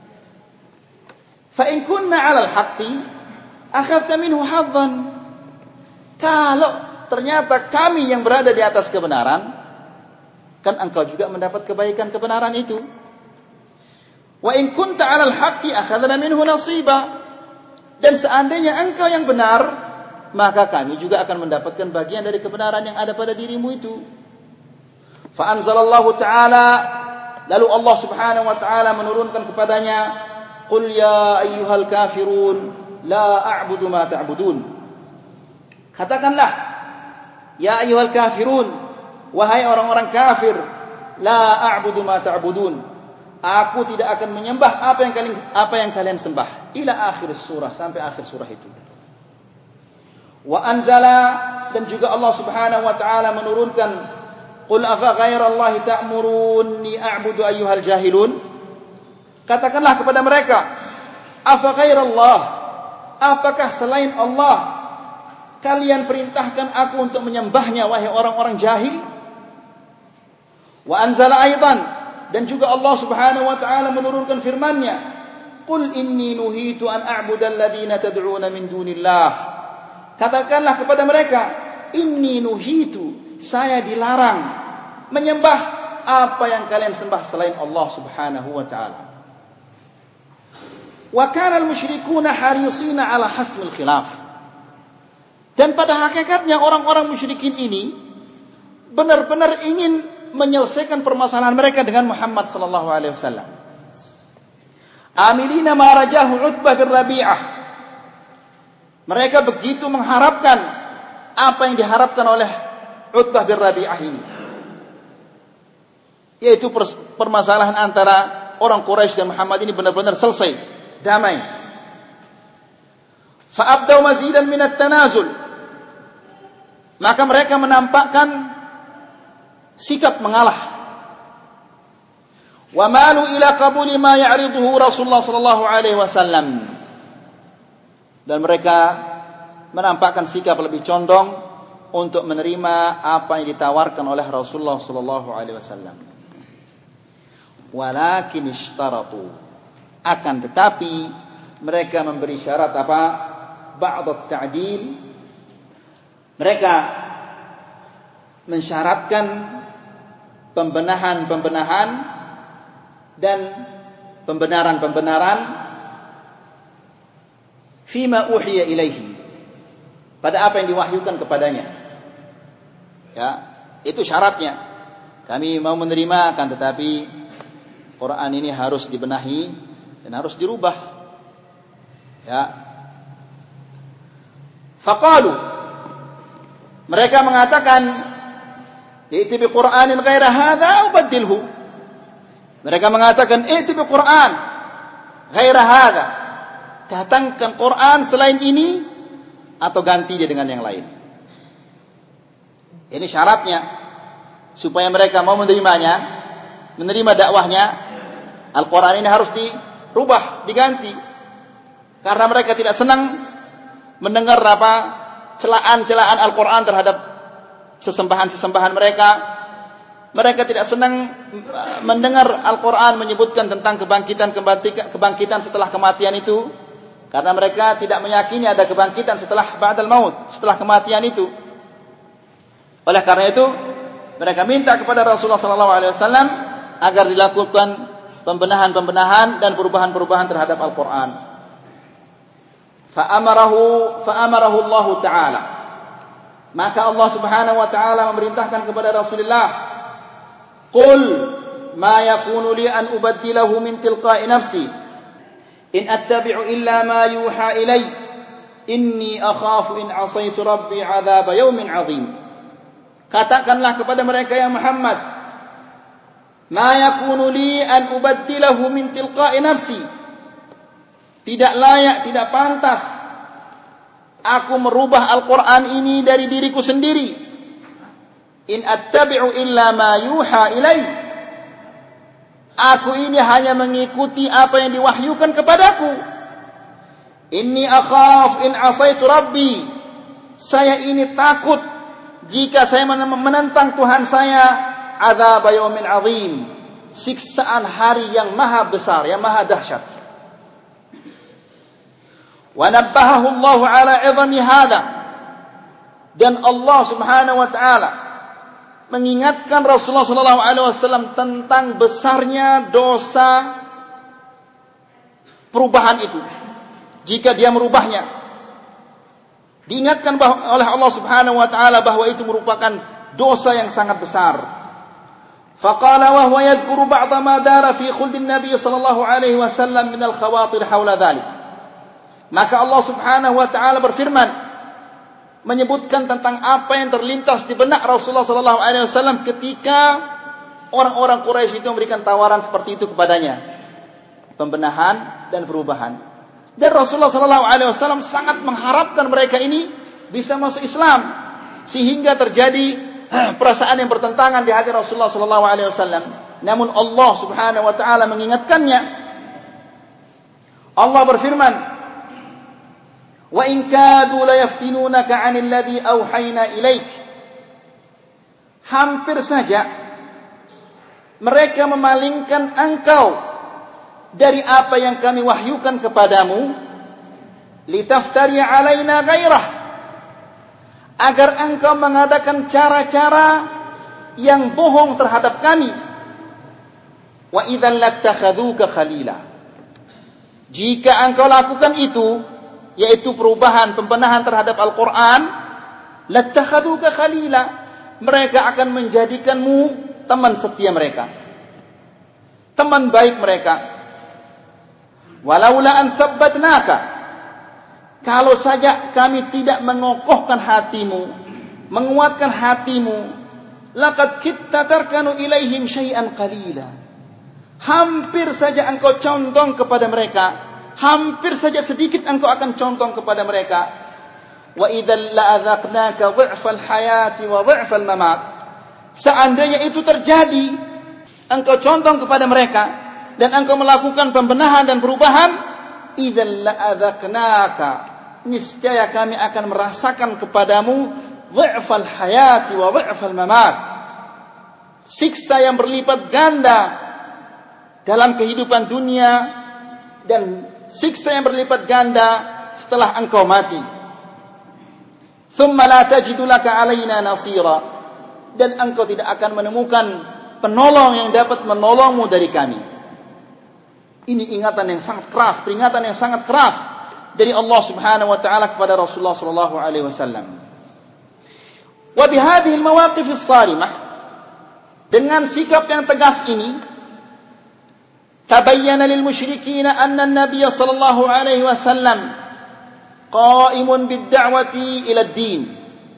Fa in kunna 'alal haqqi akhadta minhu haddan. Kalau ternyata kami yang berada di atas kebenaran, kan engkau juga mendapat kebaikan kebenaran itu. Wa in kunta 'alal haqqi akhadna minhu nasiba. Dan seandainya engkau yang benar, maka kami juga akan mendapatkan bagian dari kebenaran yang ada pada dirimu itu. Fa anzalallahu ta'ala, lalu Allah Subhanahu wa ta'ala menurunkan kepadanya, qul ya ayyuhal kafirun la a'budu ma ta'budun. Katakanlah, ya ayyuhal kafirun, wahai orang-orang kafir, la a'budu ma ta'budun. Aku tidak akan menyembah apa yang kalian sembah. Ila akhir surah, sampai akhir surah itu. Wa anzala, dan juga Allah Subhanahu wa ta'ala menurunkan, qul afa ghairallahi ta'muruni a'budu ayyuhal jahilun. Katakanlah kepada mereka, afa ghairallah, apakah selain Allah kalian perintahkan aku untuk menyembahnya, wahai orang-orang jahil? Wa anzala aidan, dan juga Allah Subhanahu wa ta'ala menurunkan firman-Nya, qul inni nuhitu an a'budal ladzina tad'una min dunillah. Katakanlah kepada mereka, inni nuhitu, saya dilarang menyembah apa yang kalian sembah selain Allah Subhanahu wa taala. Wa kana al-musyrikuuna harisina ala hasmil khilaf. Dan pada hakikatnya orang-orang musyrikin ini benar-benar ingin menyelesaikan permasalahan mereka dengan Muhammad sallallahu alaihi wasallam. Amilina ma rajahu Utbah bin Rabi'ah. Mereka begitu mengharapkan apa yang diharapkan oleh Utbah bin Rabi'ah ini, yaitu permasalahan antara orang Quraisy dan Muhammad ini benar-benar selesai, damai. Fa'abdaw mazidan min at-tanazul. Maka mereka menampakkan sikap mengalah. Wa malu ila qabuli ma ya'riduhu Rasulullah sallallahu alaihi wasallam. Dan mereka menampakkan sikap lebih condong untuk menerima apa yang ditawarkan oleh Rasulullah sallallahu alaihi wasallam. Walakin ishtaratu, akan tetapi mereka memberi syarat apa? Ba'd at-ta'dil. Mereka mensyaratkan pembenahan-pembenahan dan pembenaran-pembenaran fima uhiya ilaihi, pada apa yang diwahyukan kepadanya. Ya, itu syaratnya. Kami mau menerima, akan tetapi Quran ini harus dibenahi dan harus dirubah. Ya. Faqalu, mereka mengatakan, "I'ti bi Qur'anin ghaira hadza ubaddilhu." Mereka mengatakan, "I'ti bi Qur'an ghaira hadza." Datangkan Quran selain ini atau ganti dia dengan yang lain. Ini syaratnya supaya mereka mau menerimanya, menerima dakwahnya. Al-Quran ini harus dirubah, diganti. Karena mereka tidak senang mendengar celaan-celaan Al-Quran terhadap sesembahan-sesembahan mereka. Mereka tidak senang mendengar Al-Quran menyebutkan tentang kebangkitan setelah kematian itu. Karena mereka tidak meyakini ada kebangkitan setelah ba'dal maut, setelah kematian itu. Oleh karena itu, mereka minta kepada Rasulullah SAW agar dilakukan pembenahan-pembenahan dan perubahan-perubahan terhadap Al-Quran. Fa'amarahu Allah Ta'ala. Maka Allah Subhanahu wa Ta'ala memerintahkan kepada Rasulullah, "Qul ma yakunu li an ubaddilahu min tilqa'i nafsi. In attabi'u illa ma yuha ilai. Inni akhafu in asaitu rabbi 'adzaba yaumin 'adzim." Katakanlah kepada mereka, ya Muhammad, "Ma yakunu li an ubaddilahu min tilqa'i nafsi." Tidak layak, tidak pantas aku merubah Al-Quran ini dari diriku sendiri. In attabi'u illa ma yuha ilai. Aku ini hanya mengikuti apa yang diwahyukan kepadaku. Inni akhaf in asaitu rabbi. Saya ini takut jika saya menentang Tuhan saya, adzab yaumin azim, siksaan hari yang maha besar, yang maha dahsyat. Wa nabbahahu Allah ala 'idhami hadza. Dan Allah Subhanahu wa taala mengingatkan Rasulullah sallallahu alaihi wasallam tentang besarnya dosa perubahan itu jika dia merubahnya. Diingatkan oleh Allah Subhanahu wa taala bahwa itu merupakan dosa yang sangat besar. Faqala wa huwa yadhkuru ba'dha ma dara fi khuldin Nabi sallallahu alaihi wasallam min al-khawatir haula dhalik. Maka Allah Subhanahu wa taala berfirman menyebutkan tentang apa yang terlintas di benak Rasulullah sallallahu alaihi wasallam ketika orang-orang Quraisy itu memberikan tawaran seperti itu kepadanya, pembenahan dan perubahan. Dan Rasulullah sallallahu alaihi wasallam sangat mengharapkan mereka ini bisa masuk Islam, sehingga terjadi perasaan yang bertentangan di hati Rasulullah sallallahu alaihi wasallam. Namun Allah Subhanahu wa taala mengingatkannya. Allah berfirman, "Wa in kadu la yaftinunaka 'anil ladzi auhayna ilaik." Hampir saja mereka memalingkan engkau dari apa yang kami wahyukan kepadamu, litaftari 'alaina ghairah, agar engkau mengadakan cara-cara yang bohong terhadap kami. Wa idzan lattakhadhuka khalila. Jika engkau lakukan itu, yaitu perubahan, pembenahan terhadap Al-Quran, lattakhadhuka khalila, mereka akan menjadikanmu teman setia mereka, teman baik mereka. Walaula an thabbatnaka, kalau saja kami tidak mengokohkan hatimu, menguatkan hatimu, laqad kitta tarkanu ilaihim syai'an qalila, hampir saja engkau condong kepada mereka, hampir saja sedikit engkau akan condong kepada mereka. Wa idzal la'adzaqnaka dhi'fal hayati wa dhi'fal mamat, seandainya itu terjadi, engkau condong kepada mereka dan engkau melakukan pembenahan dan perubahan, idzal la'adzaqnaka, niscaya kami akan merasakan kepadamu dhi'fal hayati wa dhi'fal mamat, siksa yang berlipat ganda dalam kehidupan dunia dan siksa yang berlipat ganda setelah engkau mati. Thumma la tajidu laka alaina nasira, dan engkau tidak akan menemukan penolong yang dapat menolongmu dari kami. Ini ingatan yang sangat keras, peringatan yang sangat keras dari Allah Subhanahu wa taala kepada Rasulullah sallallahu alaihi wasallam. Wa bihadhihi almawaqif as-sarimah, dengan sikap yang tegas ini, tabayyana lil musyrikin anna an-nabiy sallallahu alaihi wasallam qa'imun bid-da'wati ila ad-din.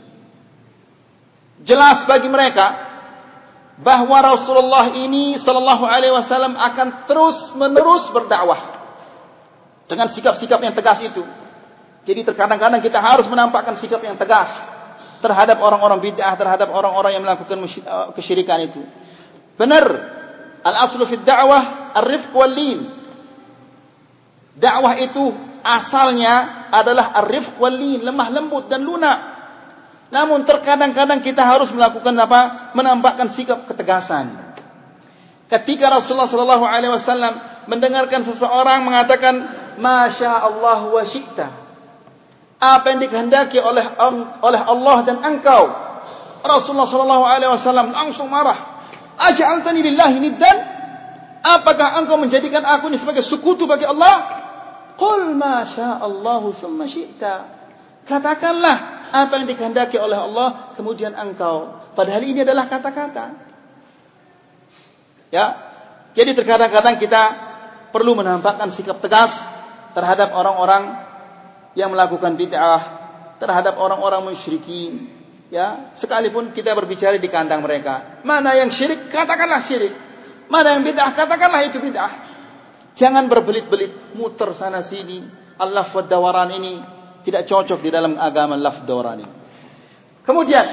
Jelas bagi mereka bahwa Rasulullah ini sallallahu alaihi wasallam akan terus-menerus berdakwah dengan sikap-sikap yang tegas itu. Jadi terkadang-kadang kita harus menampakkan sikap yang tegas terhadap orang-orang bid'ah, terhadap orang-orang yang melakukan kesyirikan itu. Benar, al-aslu fid da'wah ar-rifq wal-lin. Dakwah itu asalnya adalah ar-rifq wal-lin, lemah lembut dan lunak. Namun terkadang-kadang kita harus melakukan apa? Menampakkan sikap ketegasan. Ketika Rasulullah sallallahu alaihi wasallam mendengarkan seseorang mengatakan masya Allah wa syi'ta, apa yang dikehendaki oleh Allah dan engkau, Rasulullah sallallahu alaihi wasallam langsung marah. Aj'altani lillahi niddan? Apakah engkau menjadikan aku ini sebagai sekutu bagi Allah? Qul ma sya'allahu thumma syi'ta. Katakanlah apa yang dikehendaki oleh Allah kemudian engkau. Padahal ini adalah kata-kata. Ya. Jadi terkadang-kadang kita perlu menampakkan sikap tegas terhadap orang-orang yang melakukan bid'ah, terhadap orang-orang musyrikin. Ya, sekalipun kita berbicara di kandang mereka, mana yang syirik, katakanlah syirik. Mana yang bid'ah, katakanlah itu bid'ah. Jangan berbelit-belit, muter sana sini. Al-laf wad dawaran ini tidak cocok di dalam agama laf dawaran ini. Kemudian,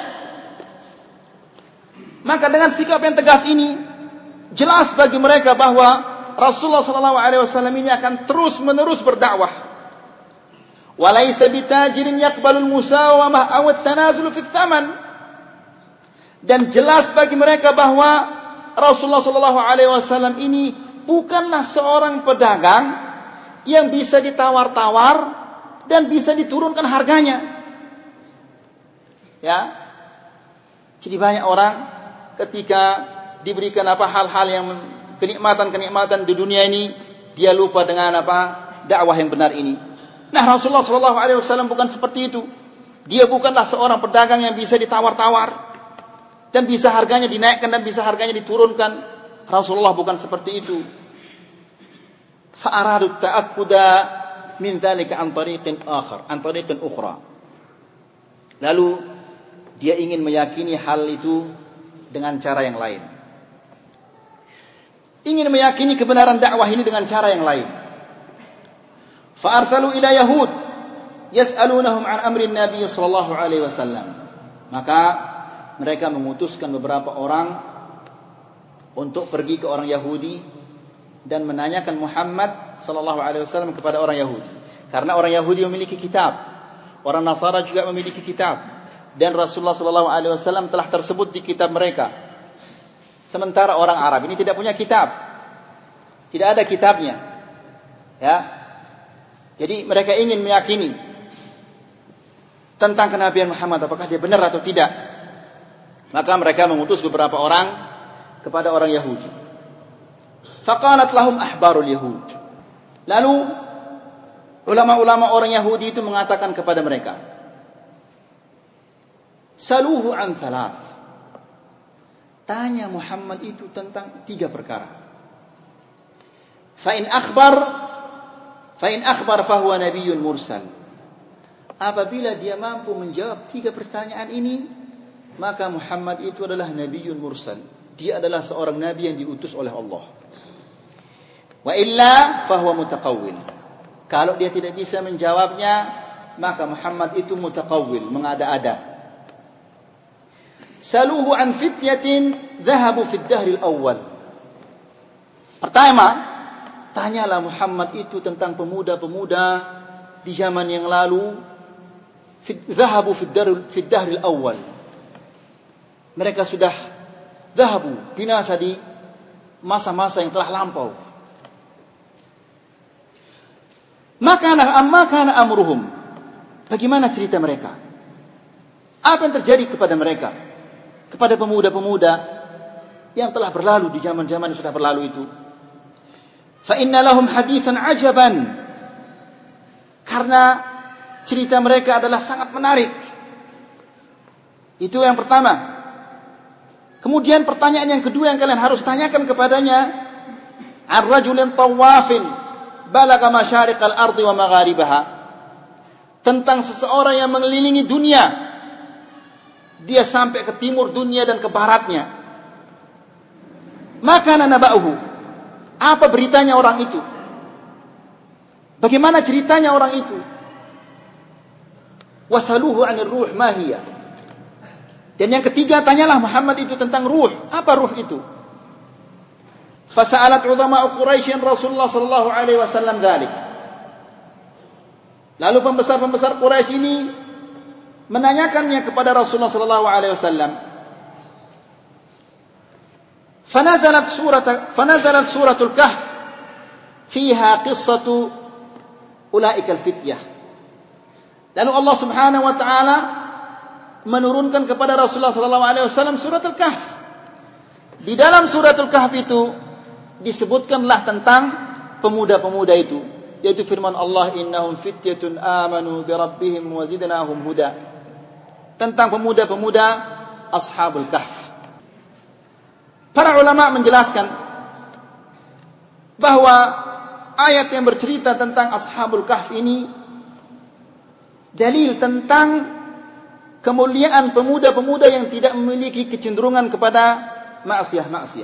maka dengan sikap yang tegas ini, jelas bagi mereka bahwa Rasulullah SAW ini akan terus-menerus berdakwah. Walaysa bitajirin yaqbalul musawamah aw at-tanazul fi tsaman. Dan jelas bagi mereka bahwa Rasulullah SAW ini bukanlah seorang pedagang yang bisa ditawar-tawar dan bisa diturunkan harganya. Ya. Jadi banyak orang ketika diberikan hal-hal yang kenikmatan-kenikmatan di dunia ini, dia lupa dengan dakwah yang benar ini. Nah, Rasulullah SAW bukan seperti itu. Dia bukanlah seorang pedagang yang bisa ditawar-tawar dan bisa harganya dinaikkan dan bisa harganya diturunkan. Rasulullah bukan seperti itu. Fa'aradu ta'akkuda min dzalika an tariqin ukhra. Lalu dia ingin meyakini hal itu dengan cara yang lain. Ingin meyakini kebenaran dakwah ini dengan cara yang lain. Fa'arsalu ila Yahud yas'alunahum an amri Nabi sallallahu alaihi wasallam. Maka mereka mengutuskan beberapa orang untuk pergi ke orang Yahudi dan menanyakan Muhammad sallallahu alaihi wasallam kepada orang Yahudi. Karena orang Yahudi memiliki kitab, orang Nasara juga memiliki kitab, dan Rasulullah sallallahu alaihi wasallam telah tersebut di kitab mereka. Sementara orang Arab ini tidak punya kitab. Tidak ada kitabnya. Ya. Jadi mereka ingin meyakini tentang kenabian Muhammad, apakah dia benar atau tidak. Maka mereka mengutus beberapa orang kepada orang Yahudi. Faqalat lahum ahbarul Yahud. Lalu ulama-ulama orang Yahudi itu mengatakan kepada mereka, saluhu an thalath. Tanya Muhammad itu tentang 3 perkara. Fa in akhbar fahuwa nabiyyun mursal. Apabila dia mampu menjawab 3 pertanyaan ini, maka Muhammad itu adalah nabiyyun mursal. Dia adalah seorang nabi yang diutus oleh Allah. Wa illa fahuwa mutaqawwil. Kalau dia tidak bisa menjawabnya, maka Muhammad itu mutaqawwil, mengada-ada. Saluhu an fityatin dhahabu fi ad-dahr al-awwal. Pertama, tanyalah Muhammad itu tentang pemuda-pemuda di zaman yang lalu, dhahabu fi ad-dahr al-awwal. Mereka sudah dhahabu, binasa di masa-masa yang telah lampau. Maka amruhum. Bagaimana cerita mereka? Apa yang terjadi kepada mereka? Kepada pemuda-pemuda yang telah berlalu di zaman-zaman yang sudah berlalu itu. Fa inna lahum hadithan ajaban. Karena cerita mereka adalah sangat menarik. Itu yang pertama. Kemudian pertanyaan yang kedua yang kalian harus tanyakan kepadanya, ar-rajulin tawafin balagha masyariqal ardi wa magharibaha. Tentang seseorang yang mengelilingi dunia. Dia sampai ke timur dunia dan ke baratnya. Maka naba'uhu. Apa beritanya orang itu? Bagaimana ceritanya orang itu? Wasaluhu 'anir ruh ma hiya. Dan yang ketiga, tanyalah Muhammad itu tentang ruh. Apa ruh itu? Fasa'alat ulama'u Quraisy Rasulullah sallallahu alaihi wasallam dzalik. Lalu pembesar-pembesar Quraisy ini menanyakannya kepada Rasulullah sallallahu alaihi wasallam. Fanazalat suratul Kahf fiha qissatu ulaika al-fityah. Lalu Allah Subhanahu wa taala menurunkan kepada Rasulullah sallallahu alaihi wasallam surat Al-Kahf. Di dalam surat Al-Kahf itu disebutkanlah tentang pemuda-pemuda itu, yaitu firman Allah, innahum fityatun amanu bi rabbihim wa zidnahum huda. Tentang pemuda-pemuda Ashabul Kahf. Para ulama menjelaskan bahwa ayat yang bercerita tentang Ashabul Kahf ini dalil tentang kemuliaan pemuda-pemuda yang tidak memiliki kecenderungan kepada maksiat.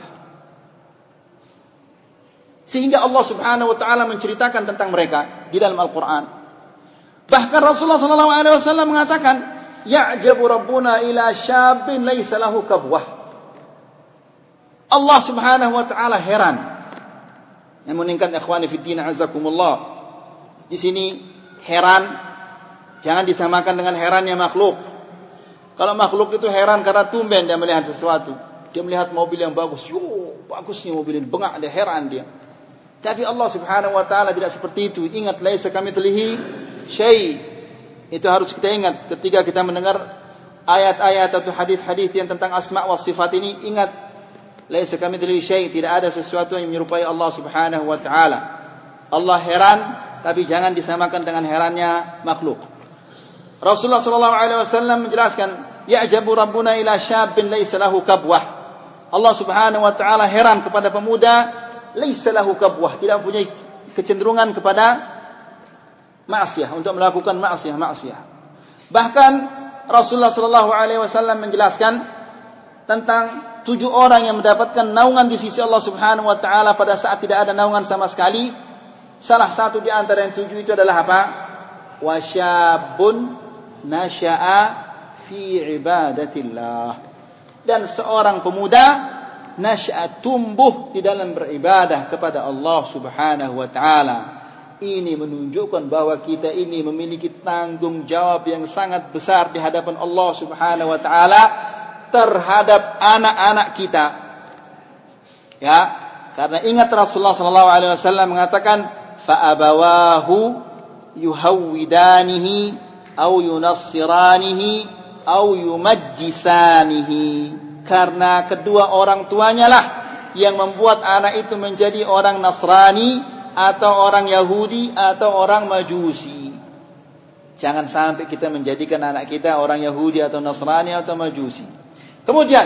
Sehingga Allah Subhanahu wa taala menceritakan tentang mereka di dalam Al-Qur'an. Bahkan Rasulullah sallallahu alaihi wasallam mengatakan, ya'jabu rabbuna ila syabin laisa lahu kabwah. Allah Subhanahu wa taala heran. Yang meningkat ikhwani fid din azakumullah. Di sini heran jangan disamakan dengan herannya makhluk. Kalau makhluk itu heran karena tumben dia melihat sesuatu. Dia melihat mobil yang bagus. Bagusnya mobil ini. Bengak dia, heran dia. Tapi Allah Subhanahu wa taala tidak seperti itu. Ingat, laisa kamitslihi syai'. Itu harus kita ingat ketika kita mendengar ayat-ayat atau hadis-hadis yang tentang asma wa sifat ini. Ingat, laisa kamitslihi syai'. Tidak ada sesuatu yang menyerupai Allah Subhanahu wa taala. Allah heran, tapi jangan disamakan dengan herannya makhluk. Rasulullah sallallahu alaihi wasallam menjelaskan, ya'jabu rabbuna ila syabin laisa lahu kabwah. Allah Subhanahu wa taala heran kepada pemuda laisa lahu kabwah, tidak mempunyai kecenderungan kepada maksiat, untuk melakukan maksiat. Bahkan Rasulullah sallallahu alaihi wasallam menjelaskan tentang 7 orang yang mendapatkan naungan di sisi Allah Subhanahu wa taala pada saat tidak ada naungan sama sekali. Salah satu di antara yang 7 itu adalah apa? Wasyabun nasya'a fi ibadatillah. Dan seorang pemuda nasya'a, tumbuh di dalam beribadah kepada Allah Subhanahu wa taala. Ini menunjukkan bahwa kita ini memiliki tanggung jawab yang sangat besar di hadapan Allah Subhanahu wa taala terhadap anak-anak kita. Ya, karena ingat Rasulullah sallallahu alaihi wasallam mengatakan, fa abawahu yuhawwidanihi au yunassiranihi au yumajjisanihi, karena kedua orang tuanya lah yang membuat anak itu menjadi orang Nasrani atau orang Yahudi atau orang Majusi. Jangan sampai kita menjadikan anak kita orang Yahudi atau Nasrani atau Majusi. Kemudian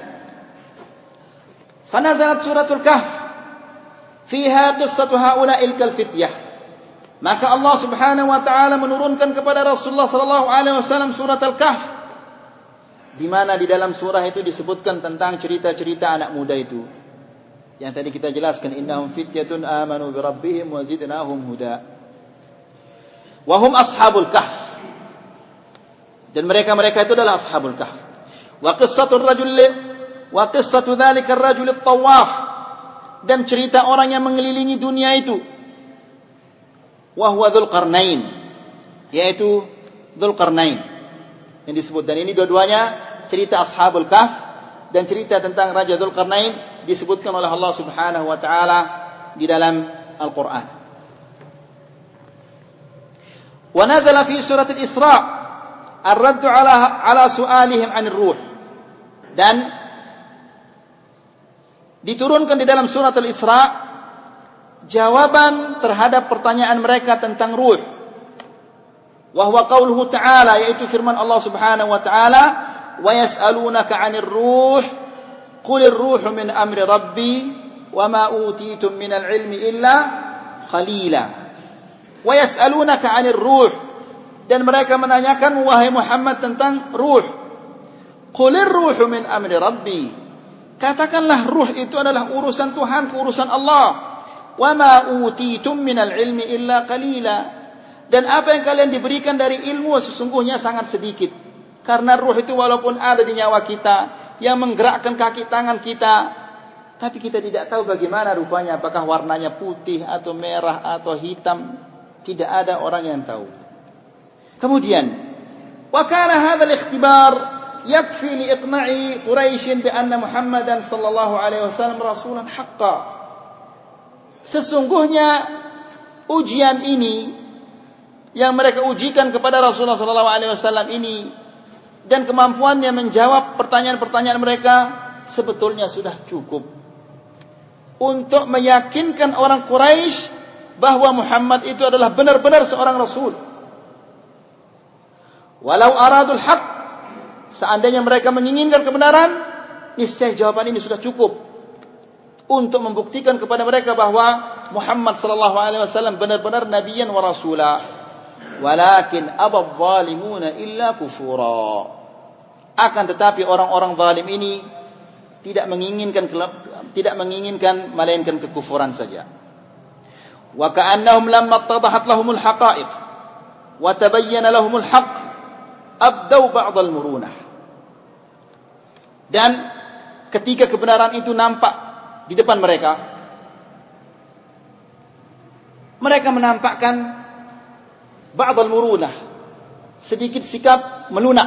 fanazalat suratul Kahf fiha qissatu haula'il kalfityah. Maka Allah Subhanahu wa taala menurunkan kepada Rasulullah sallallahu alaihi wasallam surat Al-Kahf, di mana di dalam surah itu disebutkan tentang cerita-cerita anak muda itu. Yang tadi kita jelaskan, innahum fityatun amanu bi rabbihim wa zidnahum huda. Wa hum ashabul kahf. Dan mereka itu adalah ashabul kahf. Wa qissatul rajul wa qissatu dzalika ar-rajul at-tawaf. Dan cerita orang yang mengelilingi dunia itu. Wa huwa Dzulqarnain, yaitu Dzulqarnain yang disebut. Dan ini dua-duanya cerita ashabul kahf dan cerita tentang Raja Dzulqarnain disebutkan oleh Allah Subhanahu wa taala di dalam Al-Qur'an. Wa nazala fi surat Al-Isra ar-radd ala su'alihim 'anir ruh. Dan diturunkan di dalam surat Al-Isra jawaban terhadap pertanyaan mereka tentang ruh. Wa huwa qauluhu ta'ala, yaitu firman Allah Subhanahu wa taala, wa yas'alunaka 'anir ruh qulir ruhu min amri rabbi wa ma utitum minal ilmi illa qalila. Wa yas'alunaka 'anir ruh, dan mereka menanyakan wahai Muhammad tentang ruh. Qulir ruhu min amri rabbi, katakanlah ruh itu adalah urusan Tuhan, urusan Allah. Wa ma utitum minal ilmi illa qalila, dan apa yang kalian diberikan dari ilmu sesungguhnya sangat sedikit. Karena ruh itu walaupun ada di nyawa kita, yang menggerakkan kaki tangan kita, tapi kita tidak tahu bagaimana rupanya, apakah warnanya putih atau merah atau hitam, tidak ada orang yang tahu. Kemudian wa kana hadzal ikhtibar yakfi li iqna'i Quraisy bi anna Muhammadan sallallahu alaihi wasallam rasulan haqqan. Sesungguhnya ujian ini yang mereka ujikan kepada Rasulullah sallallahu alaihi wasallam ini dan kemampuannya menjawab pertanyaan-pertanyaan mereka sebetulnya sudah cukup untuk meyakinkan orang Quraisy bahwa Muhammad itu adalah benar-benar seorang rasul. Walau aradul haq, seandainya mereka menginginkan kebenaran, niscaya jawaban ini sudah cukup untuk membuktikan kepada mereka bahwa Muhammad sallallahu alaihi wasallam benar-benar nabiyan wa rasula. Walakin abadh zalimuna illa kufura. Akan tetapi orang-orang zalim ini tidak menginginkan melainkan kekufuran saja. Wa ka'annahum lamma ittadahat lahumul haqa'iq wa tabayyana lahumul haqq abdau ba'd al-murunah. Dan ketika kebenaran itu nampak di depan mereka, mereka menampakkan ba'd al-murunah, sedikit sikap melunak.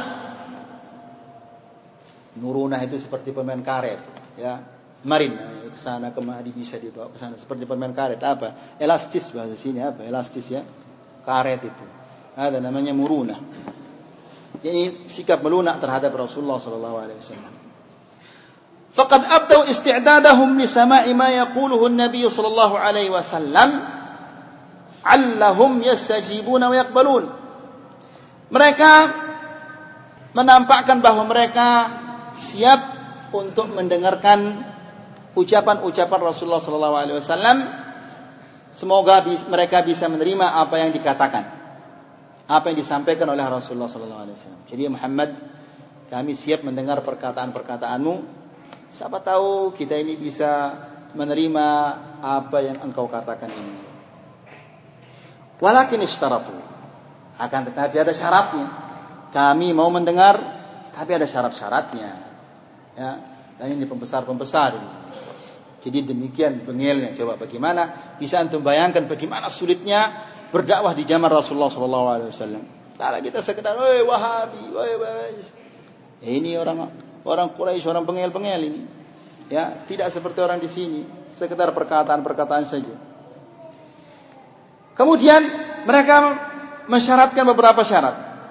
Murunah itu seperti pemain karet, ya. Kemarin ke sana kemari bisa dibawa ke sana seperti pemain karet, apa? Elastis bahasa sini, apa? Elastis, ya. Karet itu. Ada namanya murunah. Jadi sikap melunak terhadap Rasulullah sallallahu alaihi wasallam. Faqad abdau isti'dadahum li sama'i ma yaquluhu an-nabiy sallallahu alaihi wasallam 'allahum yastajibuna wa yaqbalun. Mereka menampakkan bahwa mereka siap untuk mendengarkan ucapan-ucapan Rasulullah sallallahu alaihi wasallam. Semoga mereka bisa menerima apa yang dikatakan, apa yang disampaikan oleh Rasulullah sallallahu alaihi wasallam. Jadi Muhammad, kami siap mendengar perkataan-perkataanmu. Siapa tahu kita ini bisa menerima apa yang engkau katakan ini. Walakin ishtaratu, akan tetapi ada syaratnya. Kami mau mendengar, tapi ada syarat-syaratnya. Ya, dan ini pembesar-pembesar ini. Jadi demikian bengelnya. Coba bagaimana bisa antum bayangkan bagaimana sulitnya berdakwah di zaman Rasulullah SAW. Kalau kita sekedar, Wahabi, ini orang Quraisy, orang bengel-bengel ini. Ya, tidak seperti orang di sini, sekedar perkataan-perkataan saja. Kemudian mereka mensyaratkan beberapa syarat.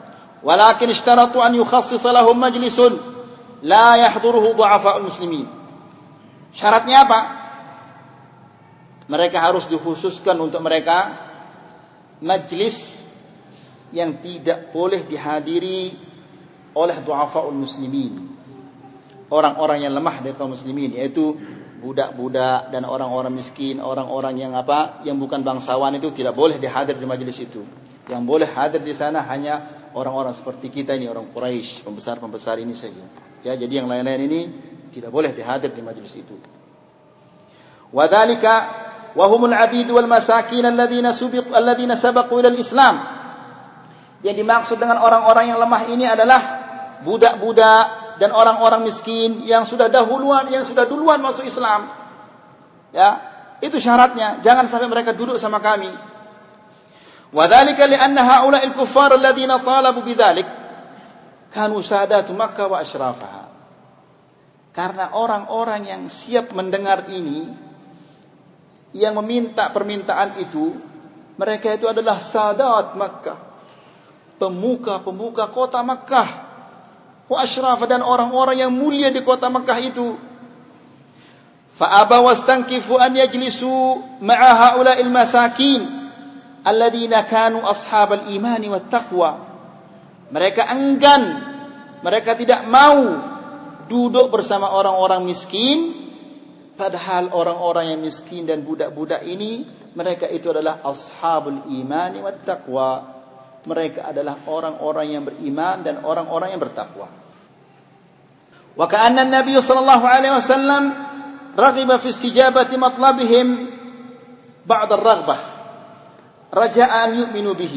walakin ishtaratu an yukhassisa lahum majlisun la yahduruhu du'afa'ul muslimin. Syaratnya apa? Mereka harus dikhususkan untuk mereka majlis yang tidak boleh dihadiri oleh du'afa'ul muslimin, orang-orang yang lemah dari kaum muslimin, yaitu budak-budak dan orang-orang miskin, orang-orang yang yang bukan bangsawan itu tidak boleh dihadir di majelis itu. Yang boleh hadir di sana hanya orang-orang seperti kita ini, orang Quraisy, pembesar-pembesar ini saja. Ya, jadi yang lain-lain ini tidak boleh dihadir di majelis itu. Wadzalika wa humul 'abid wal masakin alladziina sabaqu ila al-Islam. Yang dimaksud dengan orang-orang yang lemah ini adalah budak-budak dan orang-orang miskin yang sudah duluan masuk Islam. Ya, itu syaratnya. Jangan sampai mereka duduk sama kami. Wadzalika li'anna haula'il kuffar alladziina talabu bidzalik kanu sadatu Makkah wa asyrafaha. Karena orang-orang yang siap mendengar ini, yang meminta permintaan itu, mereka itu adalah sadat Makkah, pemuka-pemuka kota Makkah, wa asyrafa, dan orang-orang yang mulia di kota Makkah itu. Fa abaw wastankifu an yajlisu ma'a haula'il masakin alladzina kanu ashabal imani wat taqwa. Mereka enggan, mereka tidak mau duduk bersama orang-orang miskin, padahal orang-orang yang miskin dan budak-budak ini mereka itu adalah ashabul imani wat taqwa. Mereka adalah orang-orang yang beriman dan orang-orang yang bertakwa. Wa ka'anna an-nabiy sallallahu alaihi wasallam raghiba fi istijabati matlabihim ba'da ar-raghbah raja'an yu'minu bihi.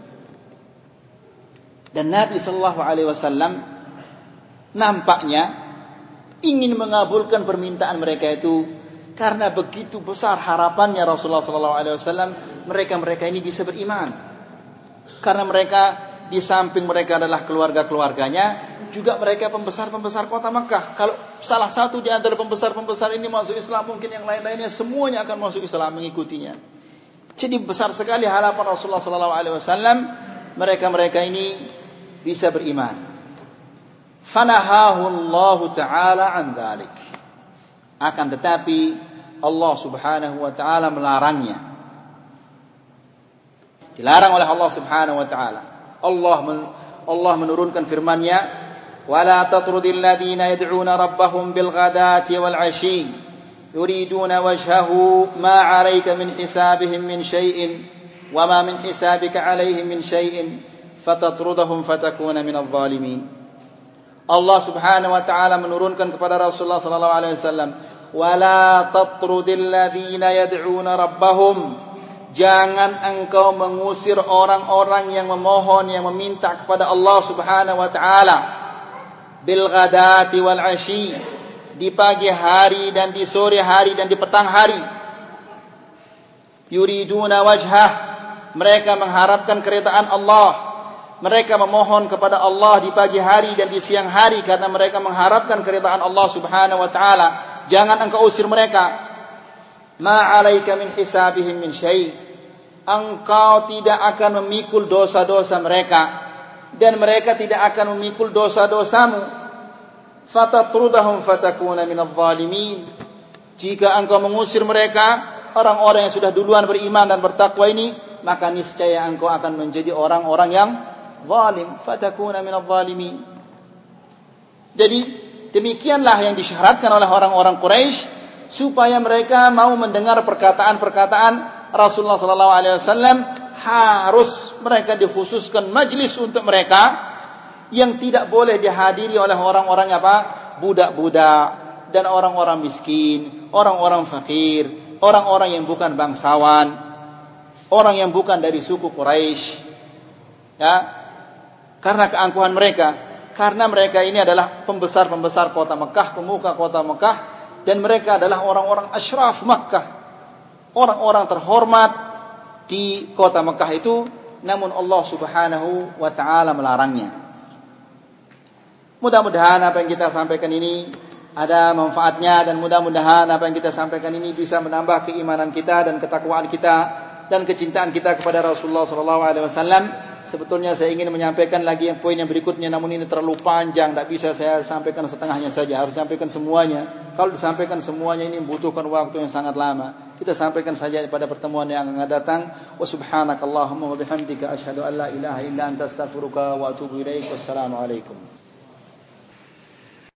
Dan Nabi sallallahu alaihi wasallam nampaknya ingin mengabulkan permintaan mereka itu karena begitu besar harapannya Rasulullah sallallahu alaihi wasallam mereka ini bisa beriman. Karena mereka di samping mereka adalah keluarga-keluarganya, juga mereka pembesar-pembesar kota Makkah. Kalau salah satu di antara pembesar-pembesar ini masuk Islam, mungkin yang lain-lainnya semuanya akan masuk Islam mengikutinya. Jadi besar sekali harapan Rasulullah sallallahu alaihi wasallam mereka ini bisa beriman. Fanahahu Allah taala an dzalik. Akan tetapi Allah Subhanahu wa taala melarangnya. Dilarang oleh Allah Subhanahu wa taala. Allah menurunkan firman-Nya, "Wala tatrudil ladzina yad'una rabbahum bil ghadati wal 'ashyi يريدون وجهه ما عليك من حسابهم من شيء وما من حسابك عليهم من شيء فتطردهم فتكون من الظالمين." Allah Subhanahu wa taala menurunkan kepada Rasulullah sallallahu alaihi wasallam, "Wala tatrudil ladzina yad'una rabbahum." Jangan engkau mengusir orang-orang yang memohon, yang meminta kepada Allah Subhanahu wa taala bil ghadati wal 'ashyi, di pagi hari dan di sore hari dan di petang hari. Yuriduna wajhah, mereka mengharapkan keridhaan Allah. Mereka memohon kepada Allah di pagi hari dan di siang hari karena mereka mengharapkan keridhaan Allah Subhanahu wa taala. Jangan engkau usir mereka. Ma 'alaika min hisabihim min syai'. Engkau tidak akan memikul dosa-dosa mereka dan mereka tidak akan memikul dosa-dosamu. Fatatrudahum fatakuna minadh dhalimin. Jika engkau mengusir mereka, orang-orang yang sudah duluan beriman dan bertakwa ini, maka niscaya engkau akan menjadi orang-orang yang zalim. Fatakuna minadh dhalimin. Jadi demikianlah yang disyaratkan oleh orang-orang Quraisy supaya mereka mau mendengar perkataan-perkataan Rasulullah sallallahu alaihi wasallam. Harus mereka dikhususkan majlis untuk mereka yang tidak boleh dihadiri oleh orang-orang budak-budak dan orang-orang miskin, orang-orang fakir, orang-orang yang bukan bangsawan, orang yang bukan dari suku Quraisy. Ya. Karena keangkuhan mereka, karena mereka ini adalah pembesar-pembesar kota Mekah, pemuka kota Mekah, dan mereka adalah orang-orang asyraf Makkah, orang-orang terhormat di kota Mekah itu, namun Allah Subhanahu wa taala melarangnya. Mudah-mudahan apa yang kita sampaikan ini ada manfaatnya, dan mudah-mudahan apa yang kita sampaikan ini bisa menambah keimanan kita dan ketakwaan kita dan kecintaan kita kepada Rasulullah sallallahu alaihi wasallam, sebetulnya saya ingin menyampaikan lagi yang poin yang berikutnya, namun ini terlalu panjang, tidak bisa saya sampaikan setengahnya saja, harus sampaikan semuanya. Kalau disampaikan semuanya ini membutuhkan waktu yang sangat lama. Kita sampaikan saja pada pertemuan yang akan datang. Wa subhanakallahumma wa bihamdika asyhadu an la ilaha illa anta astaghfiruka wa atubu ilaik. Wassalamu alaikum.